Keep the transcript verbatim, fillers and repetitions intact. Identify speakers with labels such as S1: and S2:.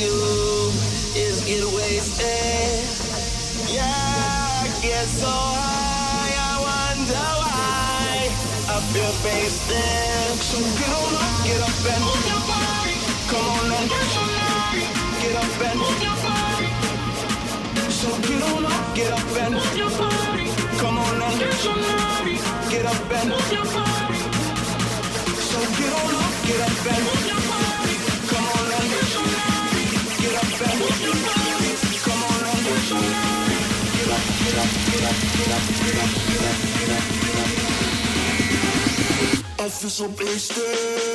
S1: you is get wasted. Yeah, I get so high, I wonder why I feel wasted. So get on up, get up and move your body. Come on and get your body. Get up and move your body. So get on up, get up and move your body. Come on and get your body. Get up and move your body. So get on up, get up and move your body. Come on and get your body. Get up and move your body. Come on and get your body. Get up, get up, get up, get up, get up, get up, get up, get up. I feel so wasted.